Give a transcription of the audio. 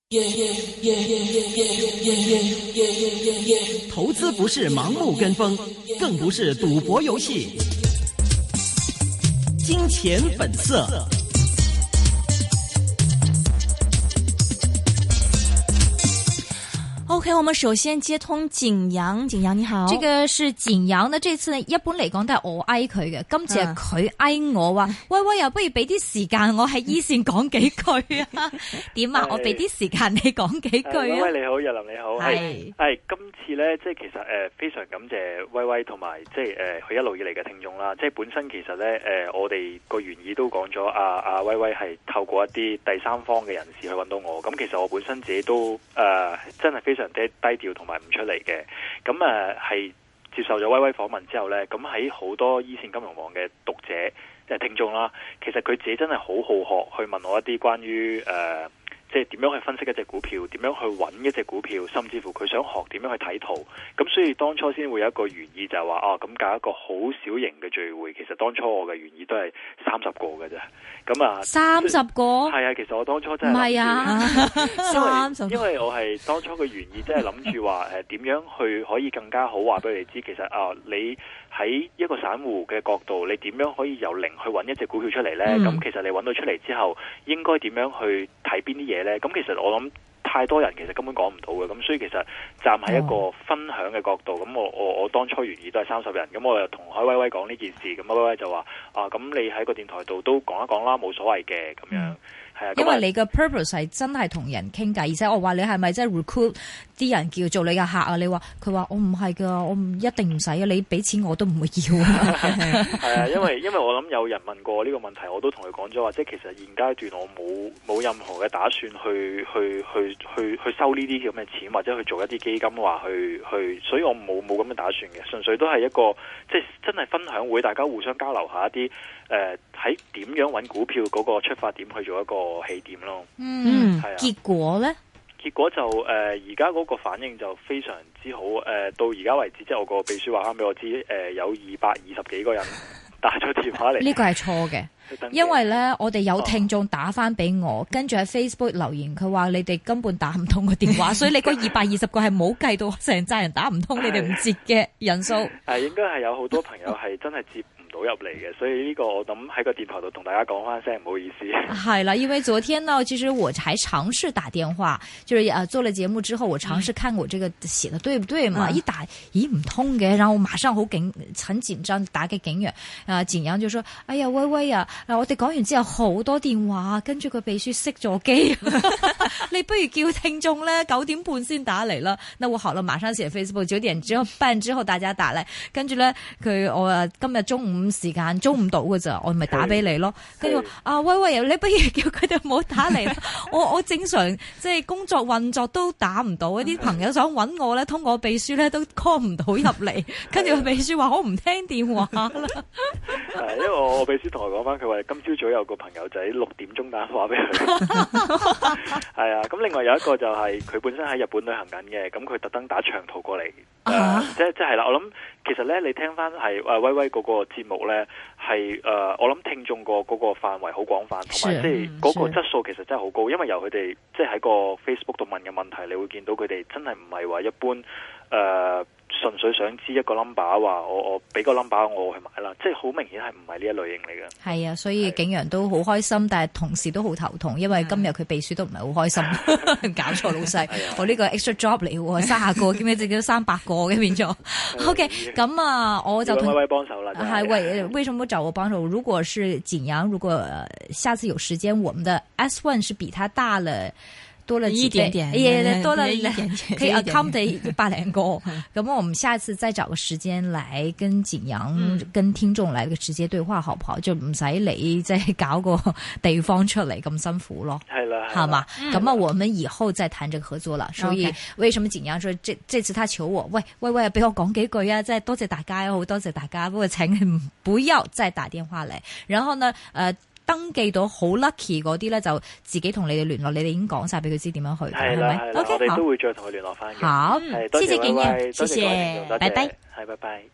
投資不是盲目跟風，更不是賭博遊戲。金錢本色。 OK， 我們首先接通景陽，景陽你好。 這個是景陽呢，這次呢一般嚟講都係我嗌佢嘅，今次係佢嗌我話，喂喂，又不如俾啲時間我喺一線講幾句啊？點啊？我俾啲時間你講幾句啊？ 喂，你好，日林你好，係今次咧，即係其實非常感謝威威同埋即係佢一路以嚟嘅聽眾啦。即係本身其實咧我哋個原意都講咗，阿威威係透過一啲第三方嘅人士去揾到我。咁其實我本身自己都真係非常低調同埋唔出嚟嘅，咁係接受咗威威訪問之後呢，咁喺好多一線金融網嘅讀者聽眾啦，其實佢自己真係好好學去問我一啲關於即係點樣去分析一隻股票，點樣去揾一隻股票，甚至乎佢想學點樣去睇圖。咁所以當初先會有一個原意就係話咁搞一個好小型嘅聚會。其實當初我嘅原意都係30個嘅啫。咁 30個？係啊，其實我當初真係唔係啊，30因為我係當初嘅原意真係諗住話點樣去可以更加好話俾你知，其實你喺一個散戶嘅角度，你點樣可以由零去揾一隻股票出嚟呢？咁其實你揾到出嚟之後，應該點樣去睇邊啲嘢呢？咁其實我諗太多人其實根本講唔到嘅，咁所以其實站喺一個分享嘅角度，咁我當初原意都係30人，咁我又同海威威講呢件事，咁威威就話咁你喺個電台度都講一講啦，冇所謂嘅咁樣。係啊， 因為你嘅 purpose 係真係同人傾偈，而且我話你係咪真係 recruit 啲人叫做你嘅客啊？你話佢話我唔係噶，我唔一定唔使啊，你俾錢我都唔會要啊。 係啊，因為我諗有人問過呢個問題，我都同佢講咗話，即係其實現階段我冇任何嘅打算去收呢啲咁嘅錢，或者去做一啲基金話去，所以我冇咁嘅打算嘅，純粹都係一個即係真係分享會，大家互相交流下一啲喺點樣揾股票嗰個出發點去做一個起點咯。係啊。 結果呢？ 結果就而家嗰個反應就非常之好。到而家為止，即係我個秘書話翻俾我知，有220幾個人打咗電話嚟。 呢個係錯嘅，因為呢，我哋有聽眾打翻俾我，跟住喺 Facebook 留言，佢話你哋根本打唔通個電話，所以你嗰220個係冇計到成扎人打唔通，你哋唔接嘅人數。 應該係有好多朋友係真係接到入嚟嘅，所以呢個我諗喺個電台度同大家講翻聲，唔好意思。 係啦，因為昨天呢，其實我還嘗試打電話，就是做了節目之後，我嘗試看我這個寫的對不對嘛，一打咦唔通嘅，然後我馬上很緊張打給景陽，景陽就說：哎呀威威啊，我哋講完之後好多電話，跟住個秘書熄咗機，你不如叫聽眾咧9點半先打嚟啦。那我好了，馬上寫 Facebook 9點半之後大家打嚟，跟住咧我今日中午時間租唔到㗎咋，我咪打俾你咯。跟住威威，你不如叫佢哋唔好打嚟啦。我正常即係工作運作都打唔到，啲朋友想揾我咧，通過秘書咧都 call 唔到入嚟。跟住秘書話我唔聽電話啦。 因為我秘書同我講翻，佢話今朝早有個朋友仔6點鐘打電話俾佢。係啊，咁另外有一個就係佢本身喺日本旅行緊嘅，咁佢特登打長途過嚟。即係啦，我諗其實咧，你聽翻係威威嗰個節目咧，係我諗聽眾個嗰個範圍好廣泛，同埋即係嗰個質素其實真係好高，因為由佢哋即係喺個 Facebook 度問嘅問題，你會見到佢哋真係唔係話一般純粹想知一個 number 話我俾個 number 我去買啦，即係好明顯係唔係呢一類型嚟嘅。係啊，所以景陽都好開心，但係同時都好頭痛，因為今日佢秘書都唔係好開心，搞錯老細，我呢個 extra job 嚟喎，30個兼且自己都300個嘅變咗。OK， 咁我就威威幫手啦。 係為什麼找我幫手？如果是景陽，如果下次有時間，我們的 S1 是比他大了。多了一點點，多了一點點，可以 accommodate 100個。咁我們下次再找個時間來跟景陽、跟聽眾來個直接對話，好唔好？就唔使你即係搞個地方出嚟咁辛苦咯。 係啦， 好嘛？咁我們以後再談這個合作了。所以為什麼景陽說這次他求我，喂，俾我講幾句啊！即係多謝大家，好多謝大家。不過請你不要再打電話嚟。然後呢，登記到好 lucky 嗰啲咧，就自己同你哋聯絡，你哋已經講晒俾佢知點樣去，係咪？OK， 我哋都會再同佢聯絡翻嘅。 好，謝謝景陽，謝謝，拜拜。 係，拜拜。